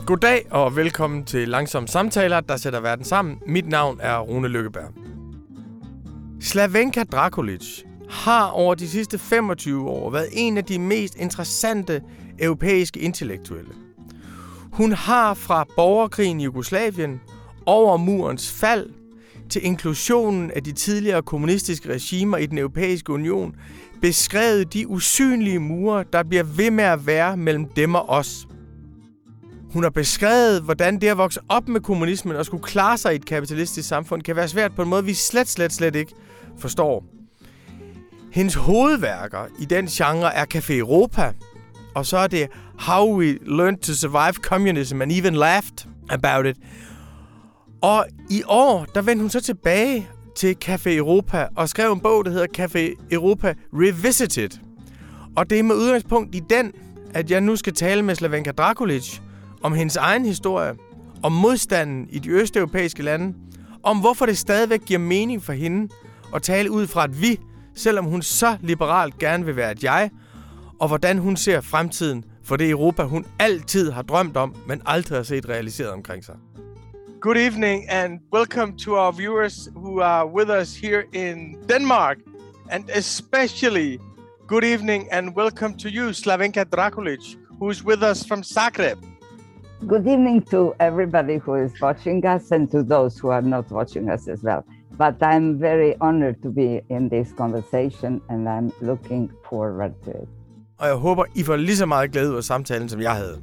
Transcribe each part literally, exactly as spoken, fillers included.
Goddag og velkommen til Langsomme Samtaler, der sætter verden sammen. Mit navn er Rune Lykkeberg. Slavenka Drakulic har over de sidste femogtyve år været en af de mest interessante europæiske intellektuelle. Hun har fra borgerkrigen i Jugoslavien, over murens fald, til inklusionen af de tidligere kommunistiske regimer i den europæiske union, beskrevet de usynlige mure, der bliver ved med at være mellem dem og os. Hun har beskrevet, hvordan det at vokse op med kommunismen og skulle klare sig i et kapitalistisk samfund kan være svært på en måde, vi slet, slet, slet ikke forstår. Hendes hovedværker i den genre er Café Europa, og så er det How We Learned to Survive Communism and Even Laughed About It. Og i år, der vendte hun så tilbage til Café Europa og skrev en bog, der hedder Café Europa Revisited. Og det er med udgangspunkt i den, at jeg nu skal tale med Slavenka Drakulic om hendes egen historie, om modstanden i de østeuropæiske lande, om hvorfor det stadigvæk giver mening for hende at tale ud fra et vi, selvom hun så liberalt gerne vil være et jeg, og hvordan hun ser fremtiden for det Europa, hun altid har drømt om, men aldrig har set realiseret omkring sig. Good evening and welcome to our viewers who are with us here in Denmark, and especially good evening and welcome to you, Slavenka Drakulic, who is with us from Zagreb. Good evening to everybody who is watching us and to those who are not watching us as well. But I'm very honored to be in this conversation and I'm looking forward to it. Og jeg håber, I får lige så meget glæde ud af samtalen, som jeg havde.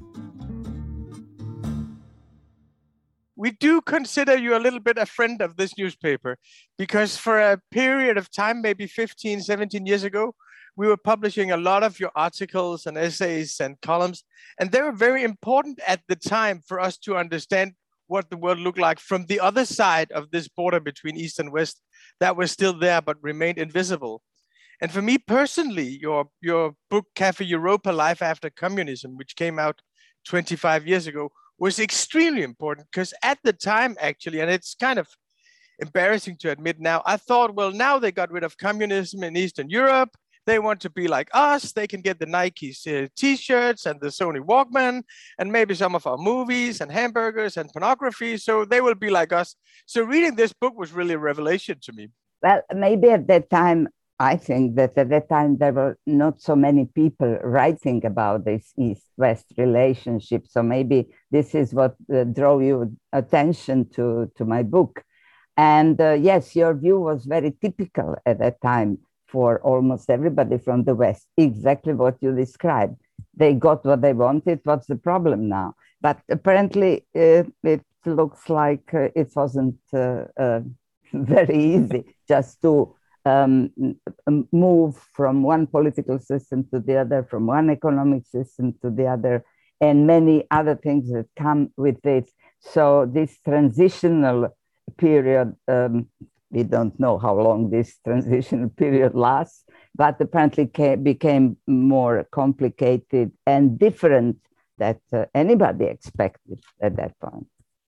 We do consider you a little bit a friend of this newspaper because for a period of time, maybe fifteen, seventeen years ago, we were publishing a lot of your articles and essays and columns, and they were very important at the time for us to understand what the world looked like from the other side of this border between East and West that was still there but remained invisible. And for me personally, your your book, Café Europa, Life After Communism, which came out twenty-five years ago, was extremely important because at the time, actually, and it's kind of embarrassing to admit now, I thought, well, now they got rid of communism in Eastern Europe. They want to be like us. They can get the Nike uh, t-shirts and the Sony Walkman and maybe some of our movies and hamburgers and pornography. So they will be like us. So reading this book was really a revelation to me. Well, maybe at that time, I think that at that time there were not so many people writing about this East-West relationship. So maybe this is what uh, drove your attention to, to my book. And uh, yes, your view was very typical at that time for almost everybody from the West, exactly what you described. They got what they wanted. What's the problem now? But apparently uh, it looks like uh, it wasn't uh, uh, very easy just to um, move from one political system to the other, from one economic system to the other, and many other things that come with it. So this transitional period, um, we don't know how long this transitional period lasts, but apparently came, became more complicated and different than uh, anybody expected at that point.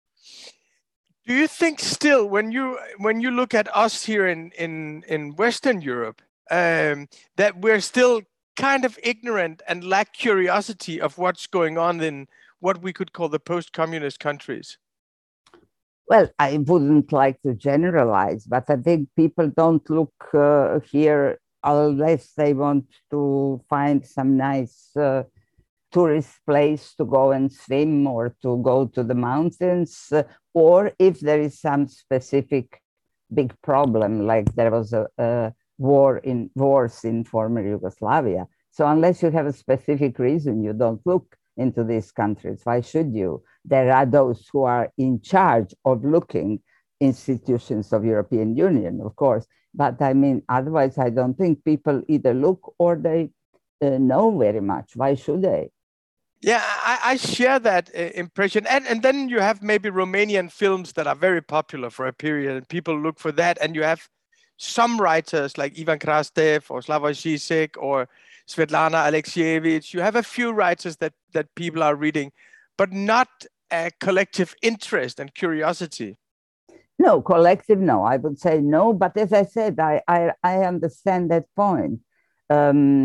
Do you think still, when you when you look at us here in in, in Western Europe, um, that we're still kind of ignorant and lack curiosity of what's going on in what we could call the post-communist countries? Well, I wouldn't like to generalize, but I think people don't look uh, here unless they want to find some nice uh, tourist place to go and swim or to go to the mountains, uh, or if there is some specific big problem, like there was a, a war in wars in former Yugoslavia. So unless you have a specific reason, you don't look into these countries. Why should you? There are those who are in charge of looking institutions of European Union, of course. But I mean, otherwise, I don't think people either look or they uh, know very much. Why should they? Yeah, I, I share that uh, impression. And, and then you have maybe Romanian films that are very popular for a period and people look for that. And you have some writers like Ivan Krastev or Slavoj Žižek or Svetlana Alexievich. You have a few writers that, that people are reading, but not a collective interest and curiosity. No, collective, no. I would say no. But as I said, I, I, I understand that point. Um,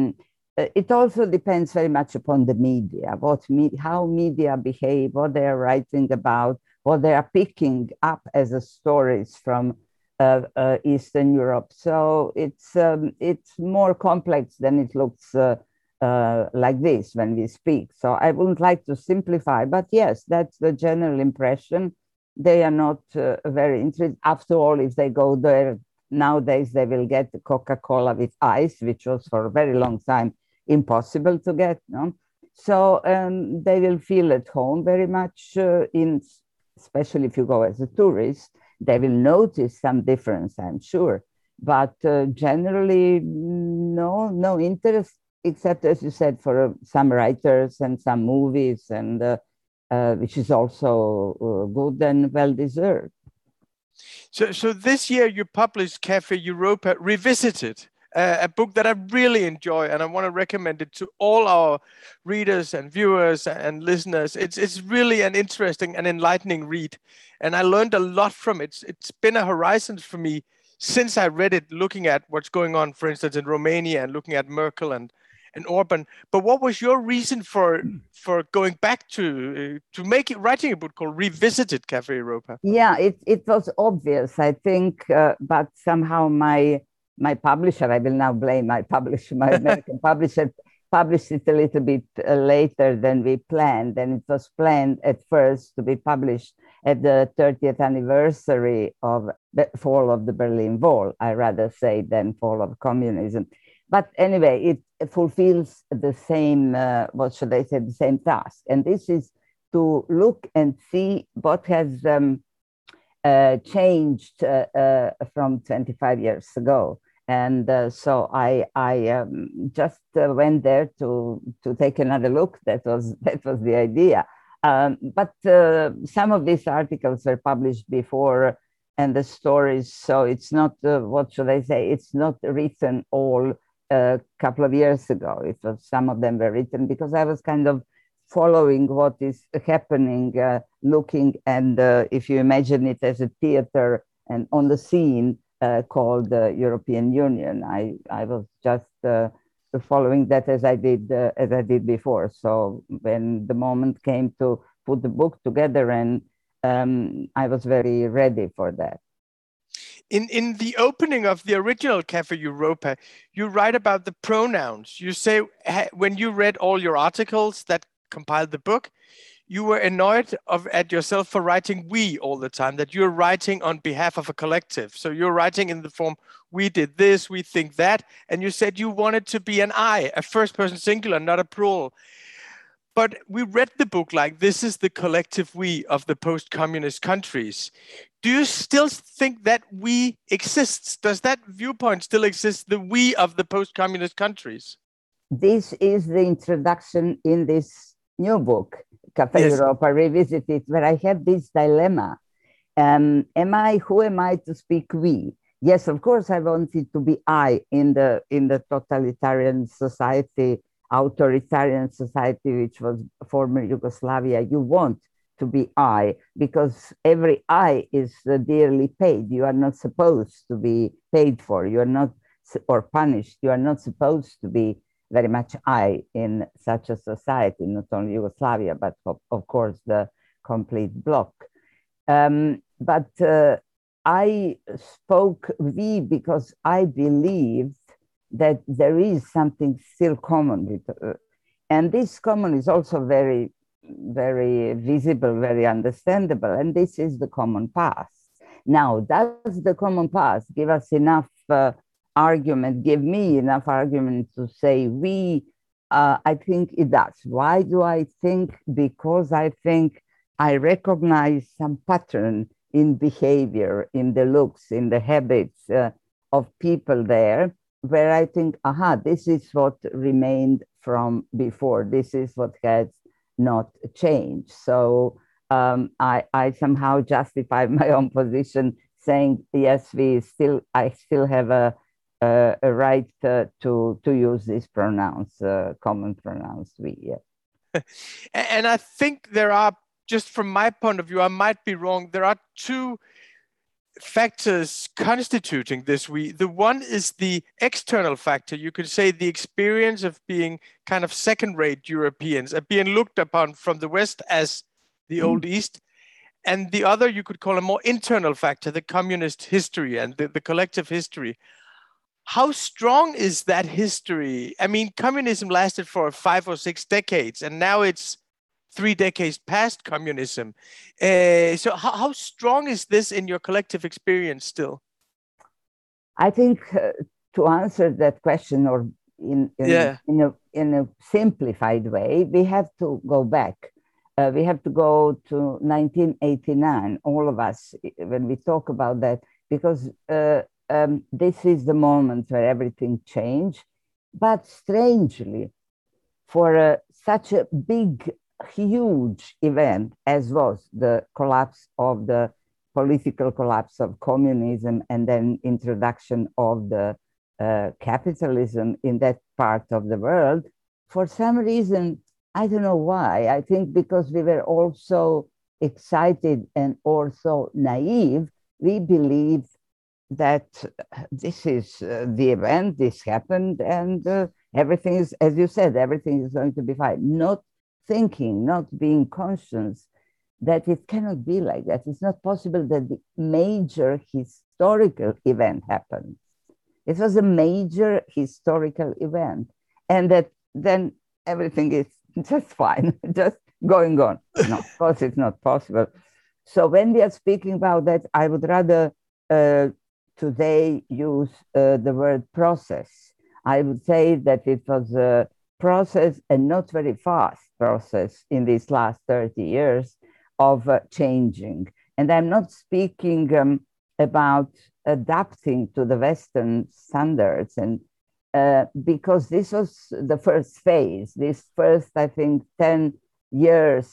uh, it also depends very much upon the media, what me- how media behave, what they are writing about, what they are picking up as a stories from uh, uh, Eastern Europe. So it's um, it's more complex than it looks uh, uh, like this when we speak. So I wouldn't like to simplify, but yes, that's the general impression. They are not uh, very interested. After all, if they go there nowadays, they will get Coca-Cola with ice, which was for a very long time impossible to get. No? So um, they will feel at home very much uh, in, especially if you go as a tourist, they will notice some difference, I'm sure. But uh, generally, no, no interest, except as you said, for uh, some writers and some movies, and uh, uh, which is also uh, good and well deserved. So, so this year you published Cafe Europa Revisited, uh, a book that I really enjoy, and I want to recommend it to all our readers and viewers and listeners. It's it's really an interesting and enlightening read, and I learned a lot from it. It's been a horizon for me since I read it, looking at what's going on, for instance, in Romania, and looking at Merkel and and Orban. But what was your reason for for going back to uh, to make it, writing a book called Revisited Cafe Europa? Yeah, it it was obvious, I think, uh, but somehow my my publisher, I will now blame my publisher, my American publisher, published it a little bit uh, later than we planned, and it was planned at first to be published at the thirtieth anniversary of the fall of the Berlin Wall, I rather say, than fall of communism. But anyway, it fulfills the same, uh, what should I say, the same task. And this is to look and see what has um, uh, changed uh, uh, from twenty-five years ago. And uh, so I, I um, just uh, went there to, to take another look. That was, that was the idea. Um, but uh, some of these articles were published before, and the stories, so it's not, uh, what should I say, it's not written all a couple of years ago. It was, some of them were written because I was kind of following what is happening, uh, looking, and uh, if you imagine it as a theater and on the scene uh, called the European Union, I, I was just uh, following that as I did uh, as I did before. So when the moment came to put the book together, and um, I was very ready for that. In, in the opening of the original Cafe Europa, you write about the pronouns. You say when you read all your articles that compiled the book, you were annoyed of, at yourself for writing we all the time, that you're writing on behalf of a collective. So you're writing in the form, we did this, we think that, and you said you wanted to be an I, a first person singular, not a plural. But we read the book like this is the collective we of the post-communist countries. Do you still think that we exists? Does that viewpoint still exist, the we of the post-communist countries? This is the introduction in this new book, Cafe Yes. Europa Revisited, where I have this dilemma. Um, am I, who am I to speak we? Yes, of course, I wanted to be I in the, in the totalitarian society, authoritarian society, which was former Yugoslavia. You want to be I, because every I is uh, dearly paid. You are not supposed to be paid for. You are not, or punished. You are not supposed to be very much I in such a society, not only Yugoslavia, but of, of course the complete bloc. Um, but uh, I spoke we because I believed that there is something still common with, uh, and this common is also very, very visible, very understandable, and this is the common past. Now, does the common past give us enough uh, argument, give me enough argument to say we? Uh, I think it does. Why do I think? Because I think I recognize some pattern in behavior, in the looks, in the habits uh, of people there, where I think, aha, this is what remained from before. This is what has not changed. So um, I, I somehow justify my own position, saying, yes, we still, I still have a, a, a right uh, to to use these pronouns, uh, common pronouns, we. Yeah. And I think there are, just from my point of view, I might be wrong, there are two factors constituting this. We the one is the external factor. You could say the experience of being kind of second-rate Europeans, of being looked upon from the West as the old East. And the other you could call a more internal factor, the communist history and the, the collective history. How strong is that history? I mean, communism lasted for five or six decades, and now it's three decades past communism. Uh, so how, how strong is this in your collective experience still? I think uh, to answer that question, or in, in, yeah. in, a, in a simplified way, we have to go back. Uh, we have to go to nineteen eighty-nine, all of us, when we talk about that, because uh, um, this is the moment where everything changed. But strangely, for uh, such a big, huge event as was the collapse of the political collapse of communism and then introduction of the uh, capitalism in that part of the world, for some reason, I don't know why. I think because we were all so excited and also naive, we believed that this is uh, the event, this happened, and uh, everything is, as you said, everything is going to be fine. Not thinking, not being conscious that it cannot be like that. It's not possible that the major historical event happened. It was a major historical event, and that then everything is just fine, just going on. No, of course, it's not possible. So when we are speaking about that, I would rather uh, today use uh, the word process. I would say that it was a process, and not very fast process, in these last thirty years of uh, changing. And I'm not speaking um, about adapting to the Western standards, and uh, because this was the first phase, this first, I think, ten years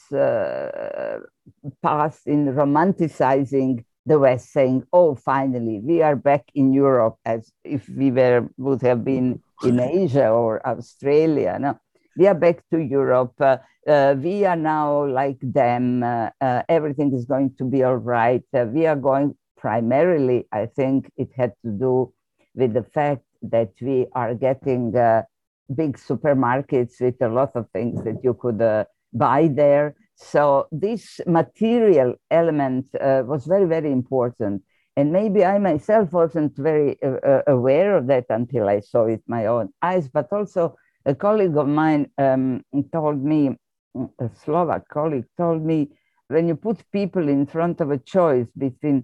uh, passed in romanticizing the West, saying, oh, finally, we are back in Europe, as if we were would have been in Asia or Australia. No, we are back to Europe. Uh, uh, we are now like them. Uh, uh, everything is going to be all right. Uh, we are going, primarily, I think it had to do with the fact that we are getting uh, big supermarkets with a lot of things that you could uh, buy there. So this material element uh, was very, very important. And maybe I myself wasn't very uh, aware of that until I saw it with my own eyes. But also a colleague of mine um, told me, a Slovak colleague told me, when you put people in front of a choice between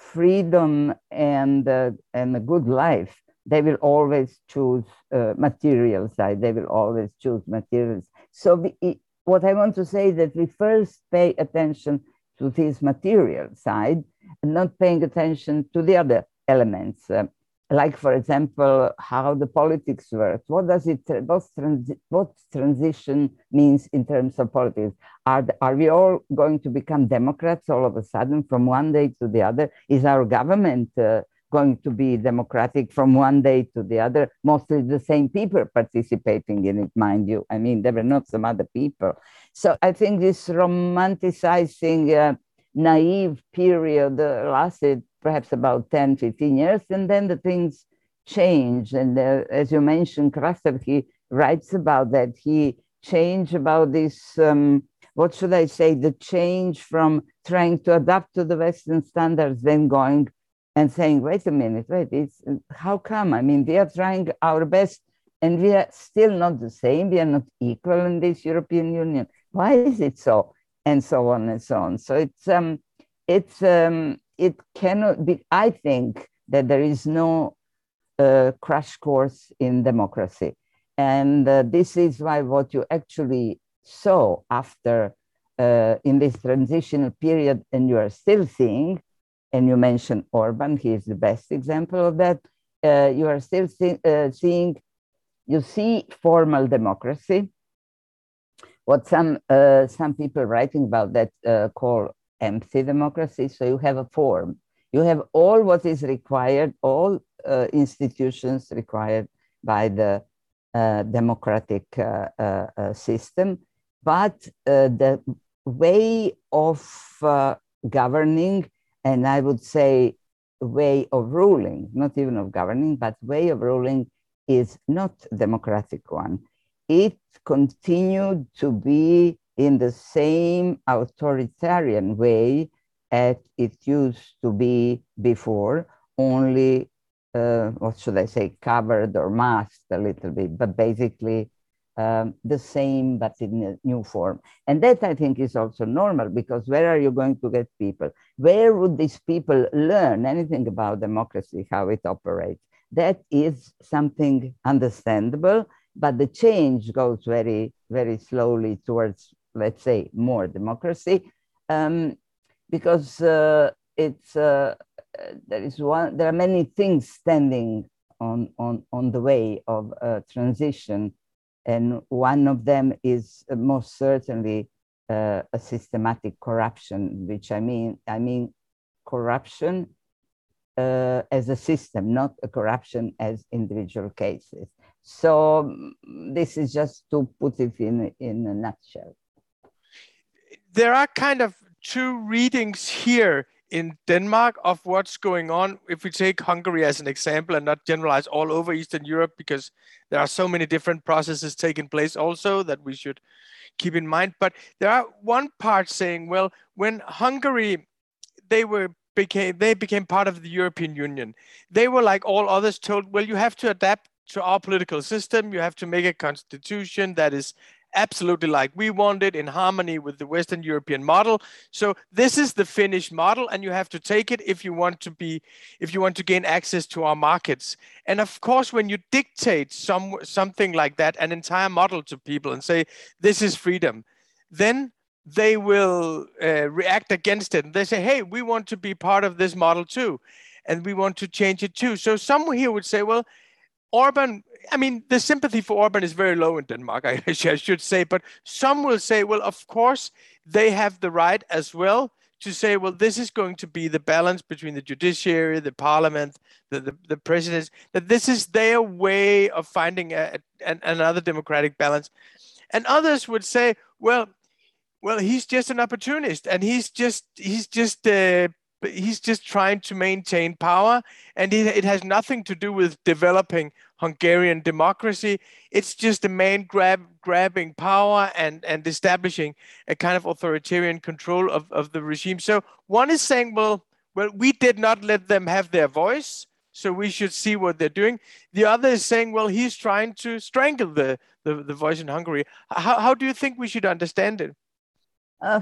freedom and, uh, and a good life, they will always choose uh, material side. They will always choose materials. So we, it, what I want to say is that we first pay attention to this material side and not paying attention to the other elements. Uh, like, for example, how the politics works. What does it, what, transi what transition means in terms of politics? Are, the, are we all going to become Democrats all of a sudden from one day to the other? Is our government uh, going to be democratic from one day to the other? Mostly the same people participating in it, mind you. I mean, there were not some other people. So I think this romanticizing, uh, naive period uh, lasted perhaps about ten, fifteen years, and then the things changed. And uh, as you mentioned, Krastev, he writes about that. He changed about this, um, what should I say, the change from trying to adapt to the Western standards, then going and saying, wait a minute, wait, it's, how come? I mean, we are trying our best and we are still not the same. We are not equal in this European Union. Why is it so? And so on and so on. So it's, um, it's, um, it cannot be, I think that there is no uh, crash course in democracy. And uh, this is why what you actually saw after, uh, in this transitional period, and you are still seeing, and you mentioned Orban, he is the best example of that. Uh, you are still see, uh, seeing, you see formal democracy, what some, uh, some people writing about that uh, call empty democracy. So you have a form, you have all what is required, all uh, institutions required by the uh, democratic uh, uh, uh, system, but uh, the way of uh, governing, and I would say way of ruling, not even of governing, but way of ruling is not democratic one. It continued to be in the same authoritarian way as it used to be before, only, uh, what should I say, covered or masked a little bit, but basically um, the same, but in a new form. And that I think is also normal, because where are you going to get people? Where would these people learn anything about democracy, how it operates? That is something understandable, but the change goes very, very slowly towards, let's say, more democracy, um, because uh, it's uh, there is one. There are many things standing on on on the way of uh, transition, and one of them is uh, most certainly uh, a systematic corruption. Which I mean, I mean, corruption uh, as a system, not a corruption as individual cases. So this is just to put it in in a nutshell. There are kind of two readings here in Denmark of what's going on. If we take Hungary as an example and not generalize all over Eastern Europe, because there are so many different processes taking place also that we should keep in mind. But there are one part saying, well, when Hungary, they were became they became part of the European Union, they were, like all others, told, well, you have to adapt to our political system. You have to make a constitution that is absolutely like we want it, in harmony with the Western European model. So this is the Finnish model, and you have to take it if you want to be, if you want to gain access to our markets. And of course, when you dictate some something like that, an entire model to people and say this is freedom, then they will uh, react against it. And they say, hey, we want to be part of this model too, and we want to change it too. So some here would say, well, Orban, I mean, the sympathy for Orban is very low in Denmark, I, I should say, but some will say, well, of course, they have the right as well to say, well, this is going to be the balance between the judiciary, the parliament, the, the, the presidents, that this is their way of finding a, a, another democratic balance. And others would say, well, well, he's just an opportunist, and he's just, he's just, uh, he's just trying to maintain power, and it, it has nothing to do with developing Hungarian democracy. It's just a man grab, grabbing power and, and establishing a kind of authoritarian control of, of the regime. So one is saying, well, well, we did not let them have their voice, so we should see what they're doing. The other is saying, well, he's trying to strangle the, the, the voice in Hungary. How, how do you think we should understand it? Uh,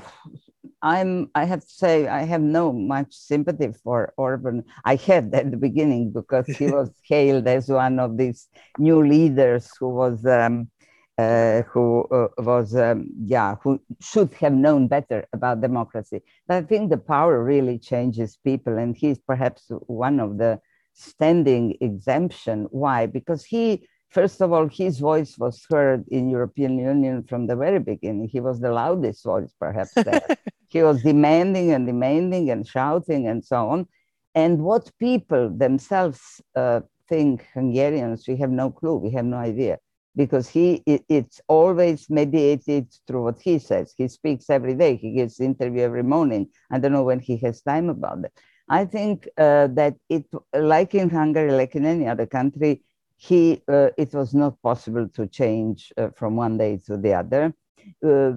I'm, I have to say, I have no much sympathy for Orban. I had at the beginning, because he was hailed as one of these new leaders who was, um, uh, who uh, was, um, yeah, who should have known better about democracy. But I think the power really changes people, and he's perhaps one of the standing exemption. Why? Because he, first of all, his voice was heard in European Union from the very beginning. He was the loudest voice, perhaps, there. He was demanding and demanding and shouting and so on. And what people themselves uh, think, Hungarians, we have no clue, we have no idea. Because he, it, it's always mediated through what he says. He speaks every day, he gives interview every morning. I don't know when he has time about it. I think uh, that it, like in Hungary, like in any other country, he, uh, it was not possible to change uh, from one day to the other. Uh,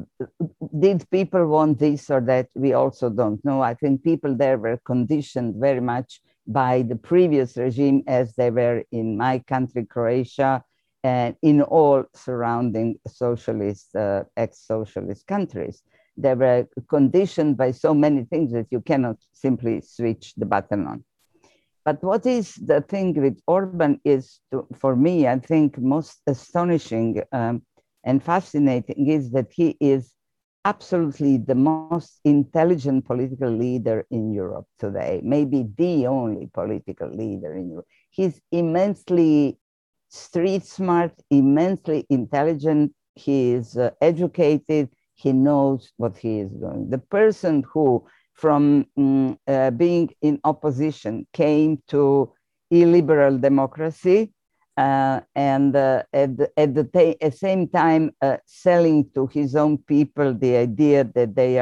did people want this or that? We also don't know. I think people there were conditioned very much by the previous regime, as they were in my country, Croatia, and in all surrounding socialist, uh, ex-socialist countries. They were conditioned by so many things that you cannot simply switch the button on. But what is the thing with Orban is, to, for me, I think most astonishing um, and fascinating is that he is absolutely the most intelligent political leader in Europe today, maybe the only political leader in Europe. He's immensely street smart, immensely intelligent, he is uh, educated, he knows what he is doing. The person who, from um, uh, being in opposition, came to illiberal democracy, uh, and uh, at the, at the ta- at same time uh, selling to his own people the idea that they are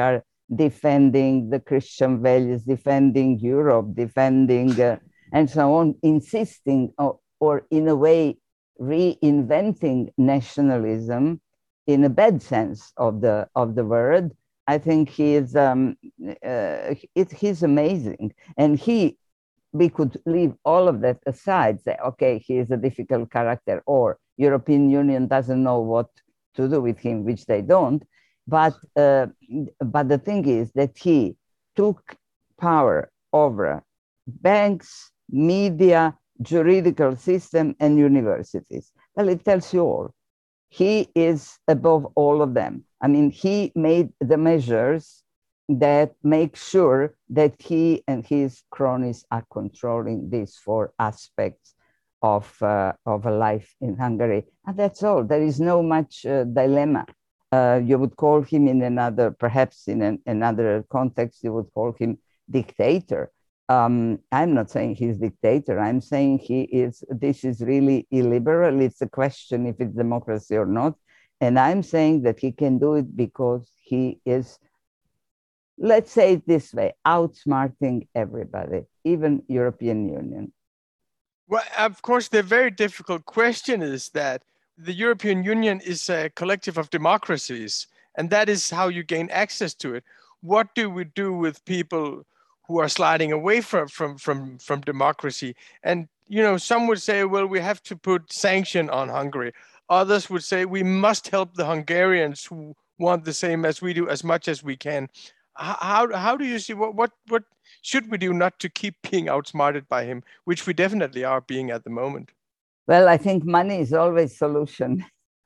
defending the Christian values, defending Europe, defending, uh, and so on, insisting or, or in a way reinventing nationalism in a bad sense of the of the word. I think he is um, uh, it, he's amazing, and he we could leave all of that aside, say, okay, he is a difficult character, or European Union doesn't know what to do with him, which they don't. But uh, but the thing is that he took power over banks, media, juridical system, and universities. Well, it tells you all. He is above all of them. I mean, he made the measures that make sure that he and his cronies are controlling these four aspects of, uh, of a life in Hungary. And that's all. There is no much uh, dilemma. Uh, you would call him in another, perhaps in an, another context, you would call him dictator. Um, I'm not saying he's dictator. I'm saying he is, this is really illiberal. It's a question if it's democracy or not. And I'm saying that he can do it because he is, let's say it this way, outsmarting everybody, even European Union. Well, of course, the very difficult question is that the European Union is a collective of democracies, and that is how you gain access to it. What do we do with people who are sliding away from, from, from, from democracy? And, you know, some would say, well, we have to put sanction on Hungary. Others would say we must help the Hungarians who want the same as we do as much as we can. How, how do you see, what, what, what should we do not to keep being outsmarted by him, which we definitely are being at the moment? Well, I think money is always solution.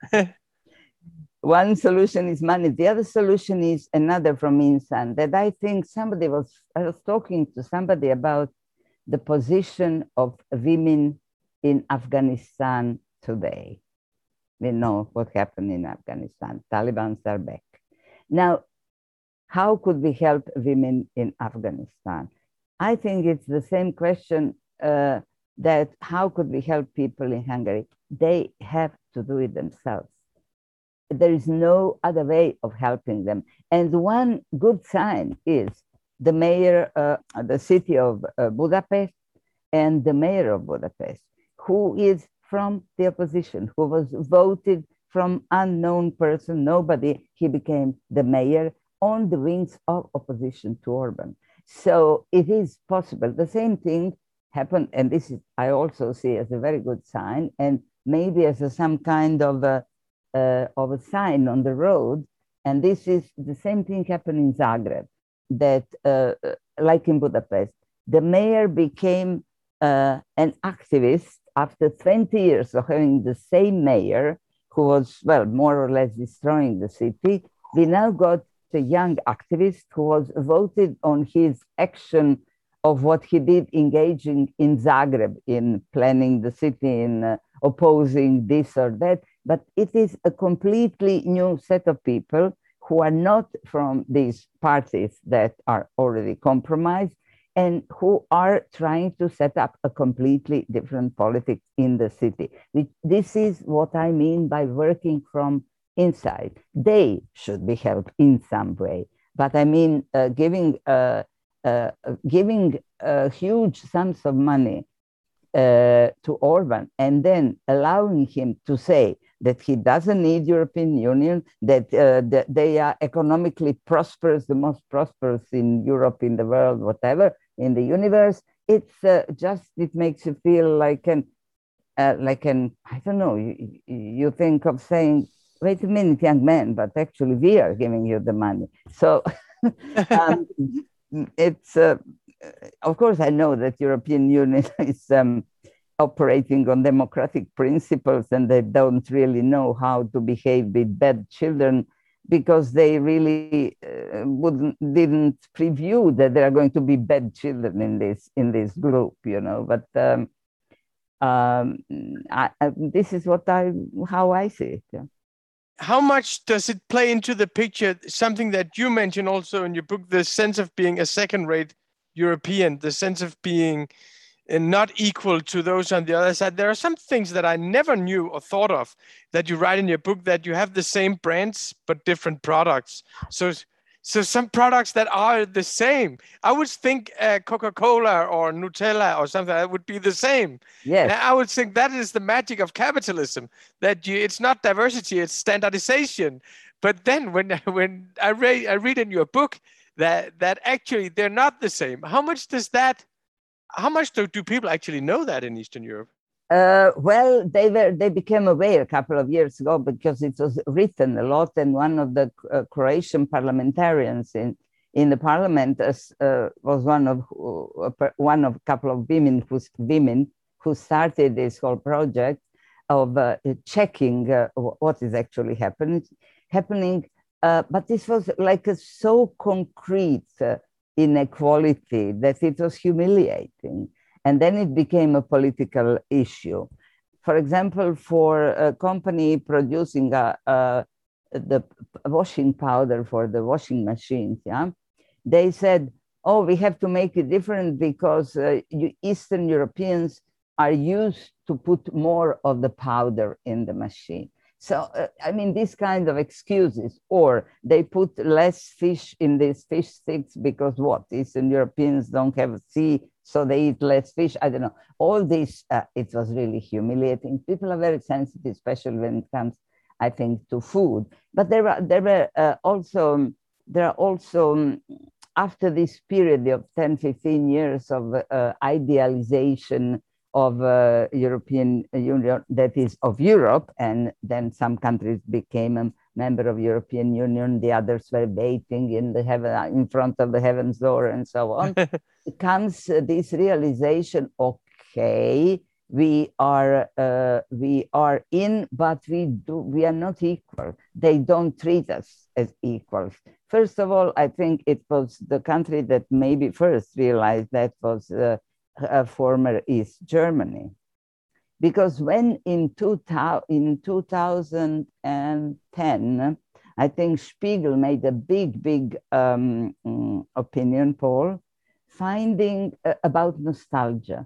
One solution is money. The other solution is another from inside, that I think somebody was, I was talking to somebody about the position of women in Afghanistan today. We know what happened in Afghanistan. Taliban are back. Now, how could we help women in Afghanistan? I think it's the same question uh, that how could we help people in Hungary? They have to do it themselves. There is no other way of helping them. And one good sign is the mayor, uh, the city of uh, Budapest, and the mayor of Budapest, who is from the opposition, who was voted from unknown person, nobody, he became the mayor on the wings of opposition to Orban. So it is possible. The same thing happened, and this is, I also see as a very good sign, and maybe as a, some kind of a, uh, of a sign on the road. And this is the same thing happened in Zagreb, that uh, like in Budapest, the mayor became uh, an activist after twenty years of having the same mayor who was, well, more or less destroying the city. We now got a young activist who was voted on his action of what he did engaging in Zagreb, in planning the city, in uh, opposing this or that. But it is a completely new set of people who are not from these parties that are already compromised and who are trying to set up a completely different politics in the city. This is what I mean by working from inside. They should be helped in some way. But I mean, uh, giving uh, uh, giving uh, huge sums of money uh, to Orban and then allowing him to say that he doesn't need European Union, that, uh, that they are economically prosperous, the most prosperous in Europe, in the world, whatever, in the universe. It's uh, just, it makes you feel like an, uh, like an, I don't know, you, you think of saying, wait a minute, young man, but actually we are giving you the money. So um, it's, uh, of course, I know that European Union is um, operating on democratic principles and they don't really know how to behave with bad children because they really uh, wouldn't, didn't preview that there are going to be bad children in this, in this group, you know, but um, um, I, I, this is what I, how I see it. Yeah. How much does it play into the picture, something that you mentioned also in your book, the sense of being a second-rate European, the sense of being not equal to those on the other side? There are some things that I never knew or thought of that you write in your book, that you have the same brands but different products. So So some products that are the same. I would think uh, Coca-Cola or Nutella or something that would be the same. Yes. And I would think that is the magic of capitalism, that you, it's not diversity, it's standardization. But then when when I read I read in your book that that actually they're not the same. How much does that? How much do, do people actually know that in Eastern Europe? Uh, well, they were they became aware a couple of years ago because it was written a lot, and one of the uh, Croatian parliamentarians in in the parliament uh, was one of uh, one of a couple of women who women who started this whole project of uh, checking uh, what is actually happening happening. Uh, but this was like a so concrete uh, inequality that it was humiliating. And then it became a political issue. For example, for a company producing a, a, the washing powder for the washing machines, yeah, they said, oh, we have to make it different because uh, you Eastern Europeans are used to put more of the powder in the machine. So, uh, I mean, these kind of excuses, or they put less fish in these fish sticks because what? Eastern Europeans don't have a sea, so they eat less fish. I don't know. All this, uh, it was really humiliating. People are very sensitive, especially when it comes, I think, to food. But there were, there were uh, also, there are also, um, after this period of ten, fifteen years of uh, idealization of uh, European Union, that is of Europe, and then some countries became a member of European Union, the others were waiting in the heaven, in front of the heaven's door, and so on. It comes uh, this realization, okay, we are uh, we are in, but we do we are not equal. They don't treat us as equals. First of all, I think it was the country that maybe first realized that was uh, Uh, former East Germany, because when in, two thousand, in two thousand ten, I think Spiegel made a big, big um, opinion poll finding uh, about nostalgia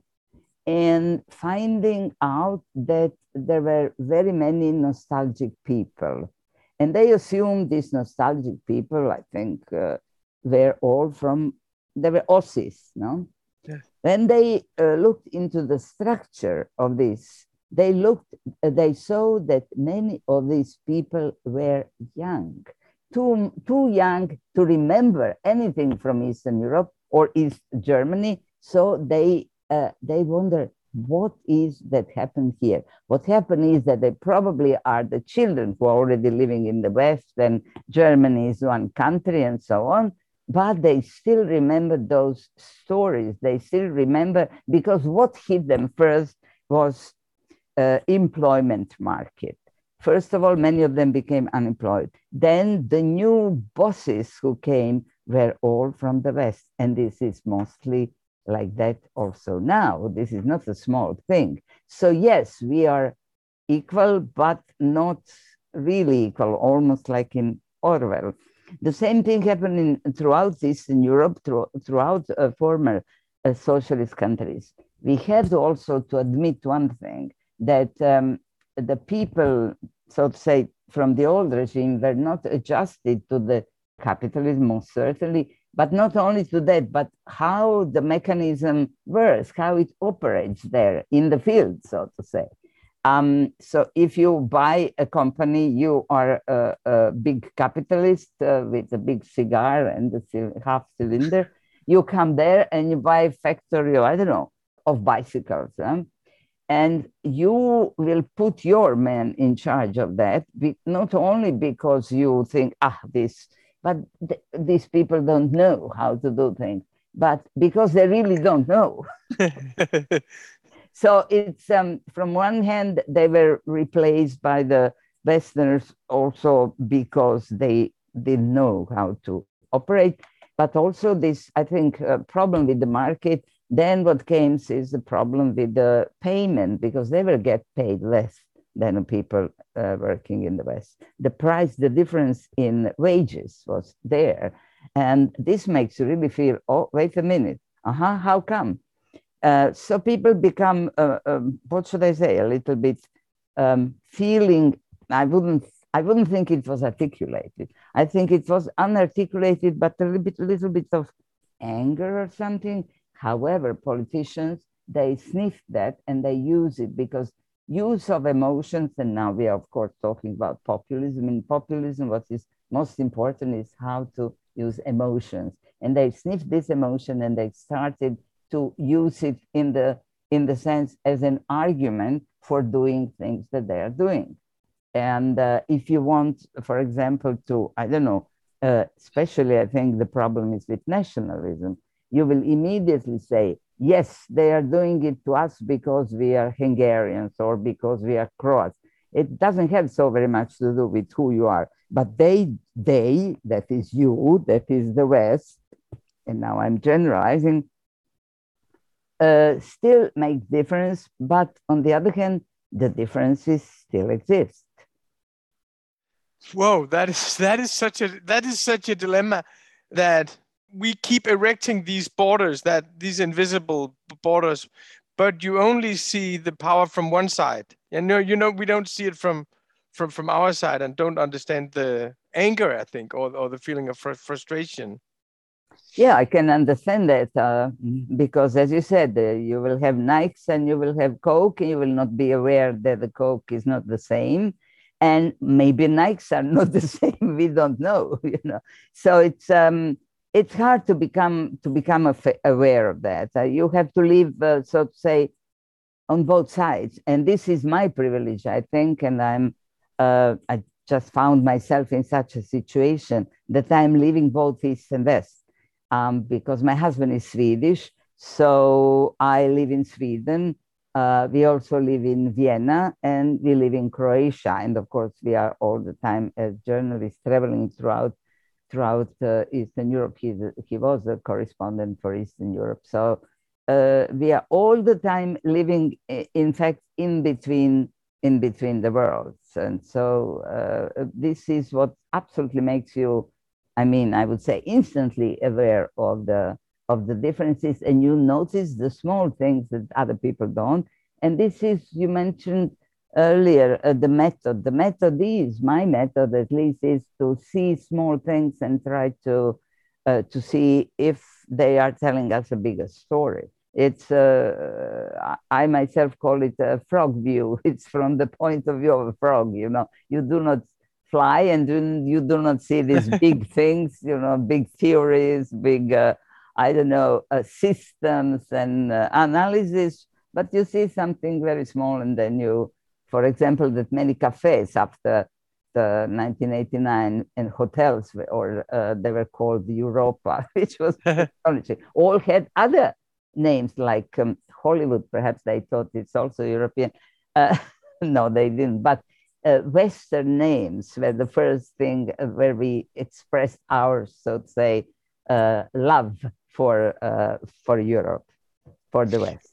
and finding out that there were very many nostalgic people. And they assumed these nostalgic people, I think, uh, were all from, they were Aussies, no? Yeah. When they uh, looked into the structure of this, they looked, uh, they saw that many of these people were young, too, too young to remember anything from Eastern Europe or East Germany. So they, uh, they wonder, what is that happened here? What happened is that they probably are the children who are already living in the West, and Germany is one country and so on. But they still remember those stories. They still remember, because what hit them first was uh, employment market. First of all, many of them became unemployed. Then the new bosses who came were all from the West. And this is mostly like that also now. This is not a small thing. So yes, we are equal, but not really equal, almost like in Orwell. The same thing happened in, throughout Eastern Europe, through, throughout uh, former uh, socialist countries. We had also to admit one thing, that um, the people, so to say, from the old regime were not adjusted to the capitalism, most certainly, but not only to that, but how the mechanism works, how it operates there in the field, so to say. Um, so if you buy a company, you are a, a big capitalist uh, with a big cigar and a half cylinder. You come there and you buy a factory, I don't know, of bicycles. Huh? And you will put your man in charge of that, not only because you think, ah, this, but th these people don't know how to do things, but because they really don't know. So it's, um, from one hand, they were replaced by the Westerners also because they didn't know how to operate, but also this, I think, uh, problem with the market. Then what came is the problem with the payment, because they will get paid less than people uh, working in the West. The price, the difference in wages was there. And this makes you really feel, oh, wait a minute, uh-huh, how come? Uh, so people become, uh, um, what should I say, a little bit um, feeling, I wouldn't I wouldn't think it was articulated. I think it was unarticulated, but a little bit, little bit of anger or something. However, politicians, they sniff that and they use it because use of emotions, and now we are, of course, talking about populism. In populism, what is most important is how to use emotions. And they sniffed this emotion and they started to use it in the, in the sense as an argument for doing things that they are doing. And uh, if you want, for example, to, I don't know, uh, especially I think the problem is with nationalism, you will immediately say, yes, they are doing it to us because we are Hungarians or because we are Croats. It doesn't have so very much to do with who you are, but they, they, that is you, that is the West, and now I'm generalizing, uh, still makes difference, but on the other hand, the differences still exist. Whoa, that is that is such a that is such a dilemma, that we keep erecting these borders, that these invisible borders, but you only see the power from one side. And no, you know, we don't see it from from from our side, and don't understand the anger, I think, or or the feeling of fr- frustration. Yeah, I can understand that uh, because, as you said, uh, you will have Nikes and you will have Coke, and you will not be aware that the Coke is not the same, and maybe Nikes are not the same. We don't know, you know. So it's um, it's hard to become to become aware of that. Uh, you have to live, uh, so to say, on both sides, and this is my privilege, I think, and I'm uh, I just found myself in such a situation that I'm living both East and West. Um, because my husband is Swedish, so I live in Sweden. Uh, we also live in Vienna, and we live in Croatia. And of course, we are all the time as journalists traveling throughout throughout uh, Eastern Europe. He's a, he was a correspondent for Eastern Europe. So uh, we are all the time living, in fact, in between in between the worlds. And so uh, this is what absolutely makes you, I mean, I would say instantly aware of the of the differences, and you notice the small things that other people don't. And this is, you mentioned earlier, uh, the method. The method is, my method at least, is to see small things and try to uh, to see if they are telling us a bigger story. It's uh, I myself call it a frog view. It's from the point of view of a frog. You know, you do not fly and you do not see these big things, you know, big theories, big, uh, I don't know, uh, systems and uh, analysis, but you see something very small. And then you, for example, that many cafes after the nineteen eighty-nine and hotels, or uh, they were called Europa, which was astonishing, all had other names like um, Hollywood. Perhaps they thought it's also European. Uh, no, they didn't. But Uh, Western names were the first thing uh, where we expressed our, so to say, uh, love for uh, for Europe, for the West.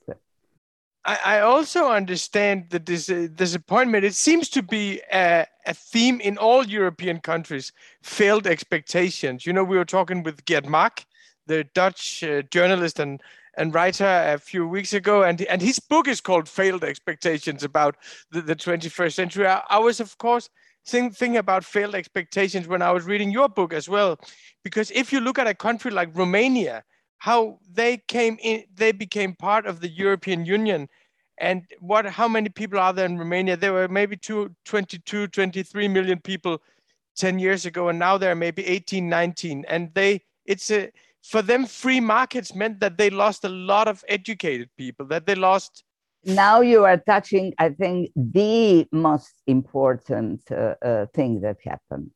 I, I also understand the dis- disappointment. It seems to be a, a theme in all European countries: failed expectations. You know, we were talking with Gerd Mark, the Dutch uh, journalist and and writer, a few weeks ago, and and his book is called Failed Expectations, about the, the twenty-first century. I, I was, of course, think, thinking about failed expectations when I was reading your book as well, because if you look at a country like Romania, how they came in, they became part of the European Union, and what, how many people are there in Romania? There were maybe two, twenty-two, twenty-three million people ten years ago, and now there are maybe eighteen, nineteen, and they, it's a, for them, free markets meant that they lost a lot of educated people, that they lost. Now you are touching, I think, the most important uh, uh, thing that happened.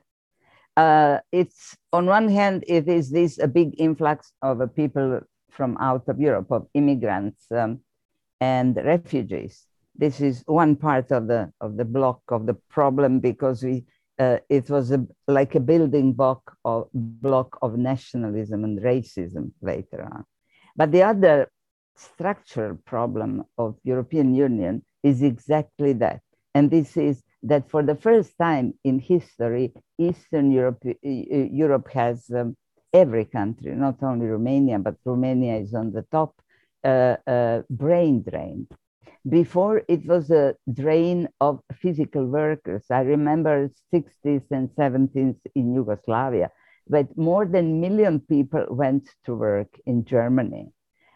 Uh, it's, on one hand, it is this a big influx of uh, people from out of Europe, of immigrants um, and refugees. This is one part of the of the block of the problem, because we uh, it was a, like a building block of block of nationalism and racism later on. But the other structural problem of European Union is exactly that, and this is that for the first time in history, Eastern Europe Europe has um, every country, not only Romania, but Romania is on the top, uh, uh, brain drained. Before, it was a drain of physical workers. I remember sixties and seventies in Yugoslavia, but more than a million people went to work in Germany.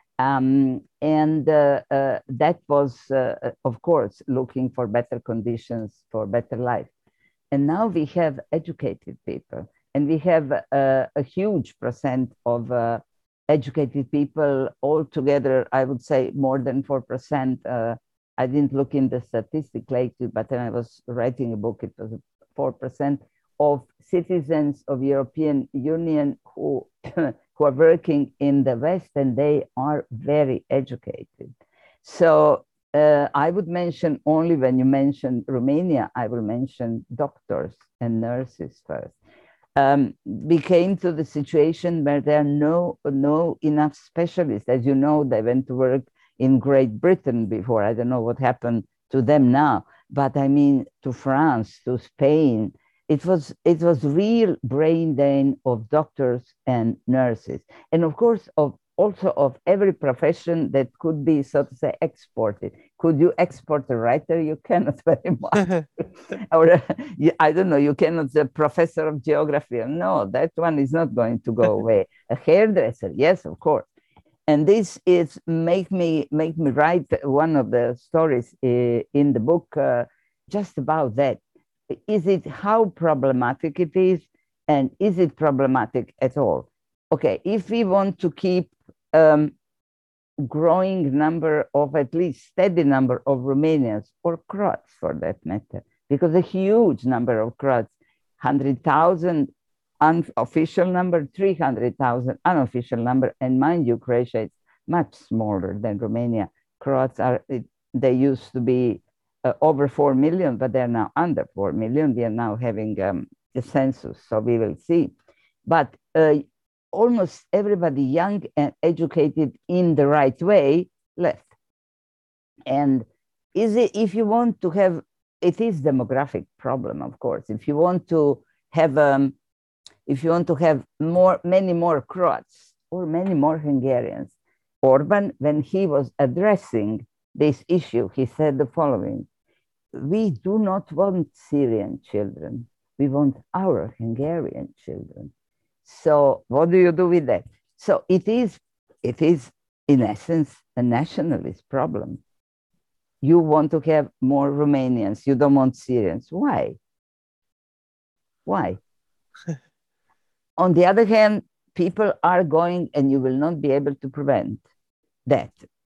Um, and uh, uh, that was, uh, of course, looking for better conditions for better life. And now we have educated people, and we have uh, a huge percent of uh, educated people altogether. I would say more than four percent. Uh, I didn't look in the statistic lately, but when I was writing a book, it was four percent of citizens of European Union who who are working in the West, and they are very educated. So uh, I would mention, only when you mention Romania, I will mention doctors and nurses first. Um, we came to the situation where there are no, no enough specialists. As you know, they went to work in Great Britain before. I don't know what happened to them now, but I mean to France, to Spain. It was, it was real brain drain of doctors and nurses. And of course, of also of every profession that could be, so to say, exported. Could you export a writer? You cannot very much. Or I don't know, you cannot, a professor of geography. No, that one is not going to go away. A hairdresser, yes, of course. And this is make me make me write one of the stories uh, in the book uh, just about that. Is it how problematic it is, and is it problematic at all? Okay, if we want to keep um, growing number of, at least steady number of Romanians, or Croats for that matter, because a huge number of Croats, one hundred thousand unofficial number, three hundred thousand unofficial number, and mind you, Croatia is much smaller than Romania. Croats are, it, they used to be uh, over four million, but they're now under four million. We are now having um, a census, so we will see. But uh, almost everybody young and educated in the right way left. And is it, if you want to have, it is demographic problem, of course. If you want to have, um, if you want to have more, many more Croats or many more Hungarians, Orban, when he was addressing this issue, he said the following: we do not want Syrian children. We want our Hungarian children. So what do you do with that? So it is, it is in essence a nationalist problem. You want to have more Romanians. You don't want Syrians. Why? Why? On the other hand, people are going, and you will not be able to prevent that.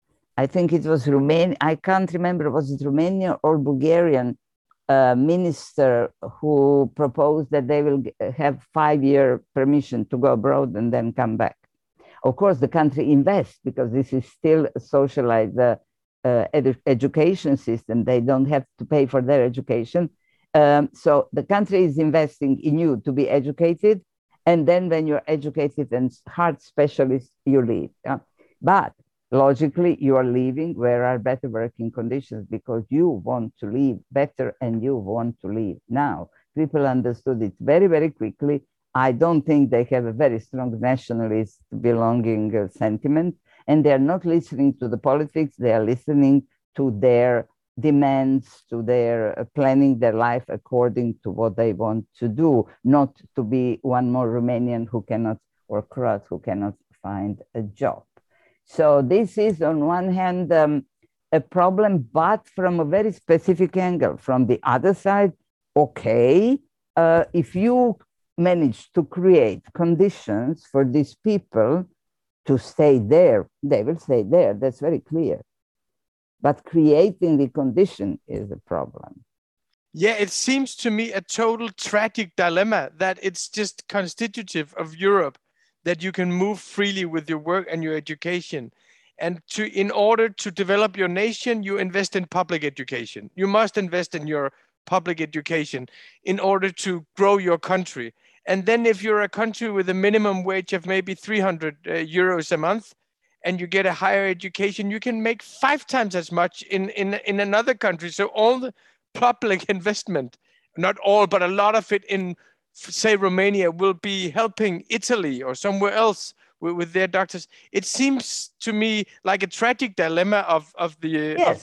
I think it was Romania. I can't remember, was it Romania or Bulgarian uh, minister who proposed that they will have five-year permission to go abroad and then come back. Of course, the country invests because this is still a socialized uh, uh, edu education system. They don't have to pay for their education. Um, so the country is investing in you to be educated. And then when you're educated and heart specialist, you leave. Yeah? But logically, you are leaving where are better working conditions, because you want to leave better and you want to leave now. People understood it very, very quickly. I don't think they have a very strong nationalist belonging uh, sentiment, and they're not listening to the politics. They are listening to their demands, to their uh, planning their life according to what they want to do, not to be one more Romanian who cannot, or Croat who cannot find a job. So this is on one hand um, a problem, but from a very specific angle. From the other side, okay, uh, if you manage to create conditions for these people to stay there, they will stay there. That's very clear. But creating the condition is a problem. Yeah, it seems to me a total tragic dilemma that it's just constitutive of Europe that you can move freely with your work and your education. And to, in order to develop your nation, you invest in public education. You must invest in your public education in order to grow your country. And then if you're a country with a minimum wage of maybe three hundred uh, euros a month, and you get a higher education, you can make five times as much in, in, in another country. So all the public investment, not all, but a lot of it in, say, Romania, will be helping Italy or somewhere else with, with their doctors. It seems to me like a tragic dilemma of, of, the, yes.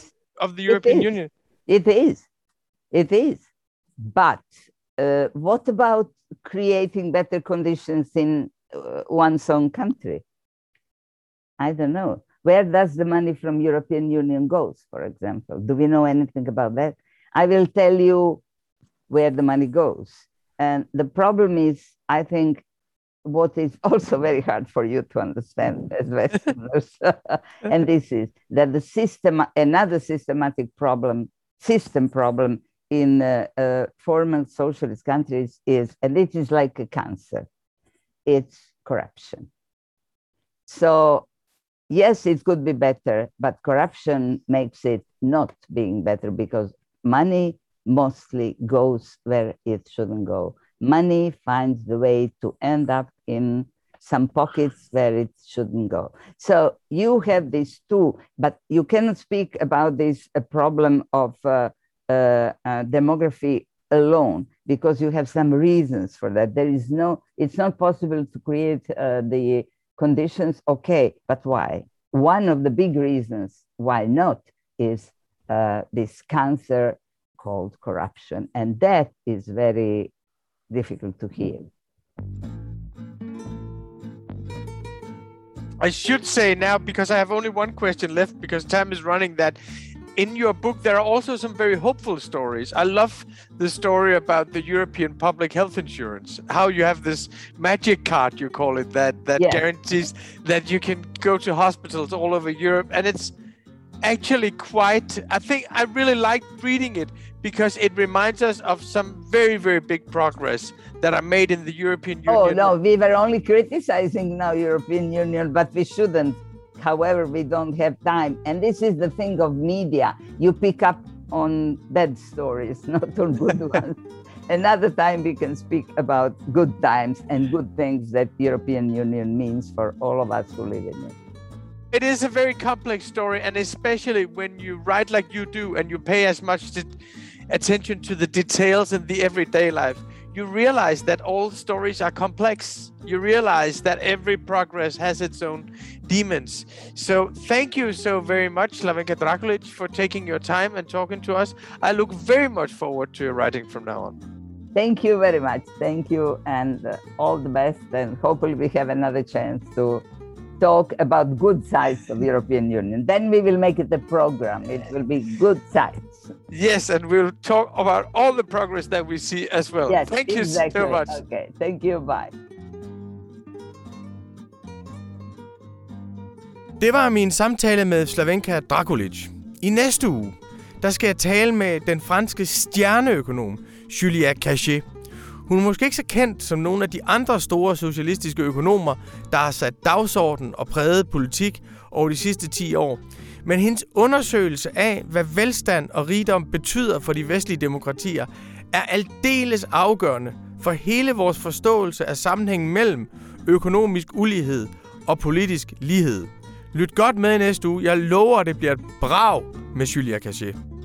of the European it Union. It is. It is. But uh, what about creating better conditions in uh, one's own country? I don't know. Where does the money from European Union goes, for example? Do we know anything about that? I will tell you where the money goes. And the problem is, I think, what is also very hard for you to understand as Westerners, and this is that the system, another systematic problem, system problem in uh, uh, former socialist countries is, and it is like a cancer, it's corruption. So yes, it could be better, but corruption makes it not being better because money mostly goes where it shouldn't go. Money finds the way to end up in some pockets where it shouldn't go. So you have these two, but you cannot speak about this a problem of uh, uh, uh, demography alone because you have some reasons for that. There is no, it's not possible to create uh, the conditions, okay, but why? One of the big reasons why not is uh, this cancer called corruption, and that is very difficult to heal. I should say now, because I have only one question left, because time is running, that in your book there are also some very hopeful stories. I love the story about the European public health insurance, how you have this magic card, you call it, that, that yes. guarantees that you can go to hospitals all over Europe. And it's actually quite, I think I really liked reading it because it reminds us of some very, very big progress that are made in the European Union. Oh, no, we were only criticizing now European Union, but we shouldn't. However, we don't have time. And this is the thing of media. You pick up on bad stories, not on good ones. Another time we can speak about good times and good things that European Union means for all of us who live in it. It is a very complex story, and especially when you write like you do and you pay as much attention to the details in the everyday life, you realize that all stories are complex. You realize that every progress has its own demons. So thank you so very much, Slavenka Drakulic, for taking your time and talking to us. I look very much forward to your writing from now on. Thank you very much. Thank you, and uh, all the best. And hopefully we have another chance to talk about good sides of the European Union. Then we will make it a program. It will be good sides. Yes, and we'll talk about all the progress that we see as well. Yes, Thank exactly. you so much. Okay, thank you. Bye. Det var min samtale med Slavenka Drakulic. I næste uge, der skal jeg tale med den franske stjerneøkonom Julia Cachet. Hun er måske ikke så kendt som nogle af de andre store socialistiske økonomer, der har sat dagsorden og præget politik over de sidste ti år. Men hendes undersøgelse af, hvad velstand og rigdom betyder for de vestlige demokratier, er aldeles afgørende for hele vores forståelse af sammenhængen mellem økonomisk ulighed og politisk lighed. Lyt godt med i næste uge. Jeg lover, at det bliver et brag med Julia Cachet.